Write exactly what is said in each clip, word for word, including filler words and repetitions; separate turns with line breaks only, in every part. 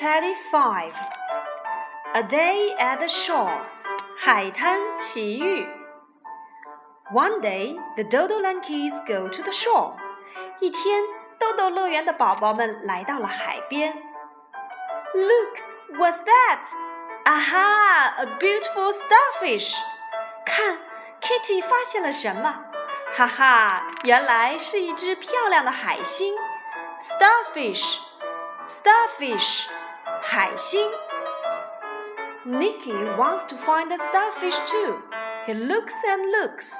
thirty-five. A day at the shore. 海滩奇遇。One day, the Dodolankies go to the shore. 一天，豆豆乐园的宝宝们来到了海边。Look, what's that? Aha, a beautiful starfish. 看 ，Kitty 发现了什么？哈哈，原来是一只漂亮的海星。Starfish, starfish, 海星。Nicky wants to find the starfish too. He looks and looks.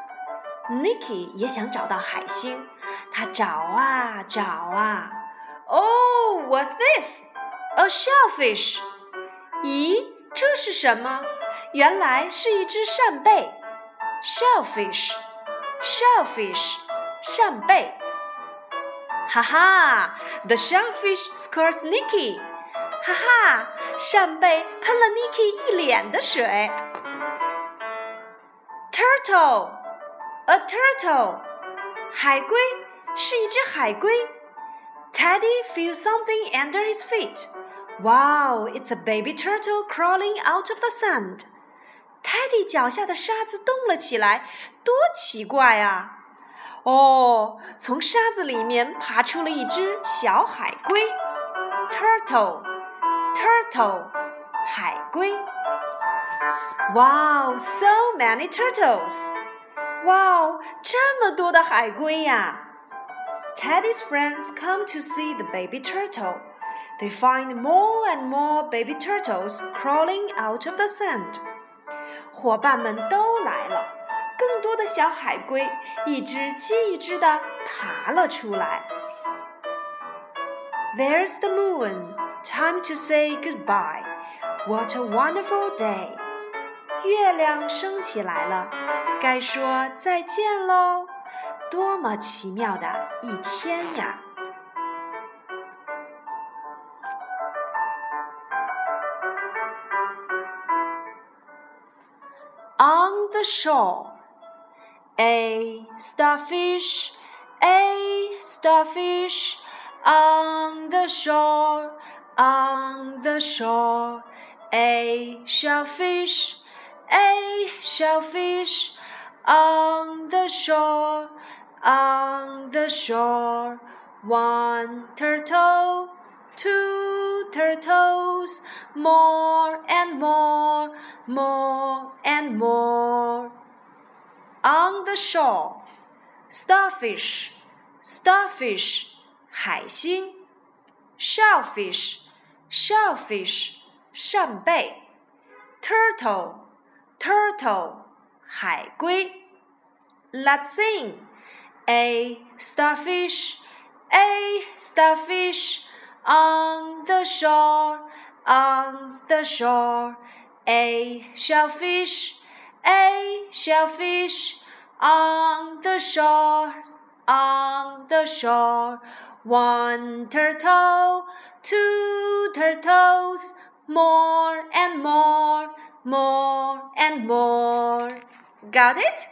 Nicky 也想找到海星，他找啊找啊。Oh, what's this? A shellfish. 咦，这是什么？原来是一只扇贝。Shellfish, shellfish, 扇贝。哈哈 ，The shellfish squirts Nicky. 哈哈，扇贝喷了 Nicky 一脸的水。Turtle, a turtle. 海龟是一只海龟。Teddy feels something under his feet. Wow, it's a baby turtle crawling out of the sand. Teddy 脚下的沙子动了起来，多奇怪啊！哦，从沙子里面爬出了一只小海龟。Turtle, turtle, 海龟。Wow, so many turtles. 哇，这么多的海龟呀！ Teddy's friends come to see the baby turtle. They find more and more baby turtles crawling out of the sand. 伙伴们都来了，更多的小海龟一只接一只地爬了出来。There's the moon. Time to say goodbye. What a wonderful day. 月亮升起来了，该说再见喽。多么奇妙的一天呀！On the shore, a starfish, a starfish, on the shore, on the shore, a shellfish, a shellfish, on the shore, on the shore, one turtle, two turtles, more and more, more and more. On the shore, starfish, starfish, 海星。Shellfish, shellfish, 扇贝。Turtle, turtle, 海龟。Let's sing. A starfish, a starfish, on the shore, on the shore. A shellfish, a shellfish, on the shore, on the shore. One turtle, two turtles, more and more, more and more. Got it?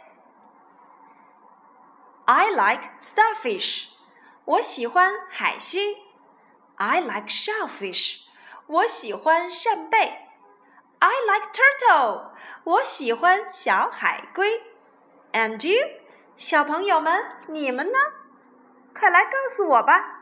I like starfish. 我喜欢海星。I like shellfish. 我喜欢扇贝。I like turtle. 我喜欢小海龟。And you? 小朋友们，你们呢？快来告诉我吧。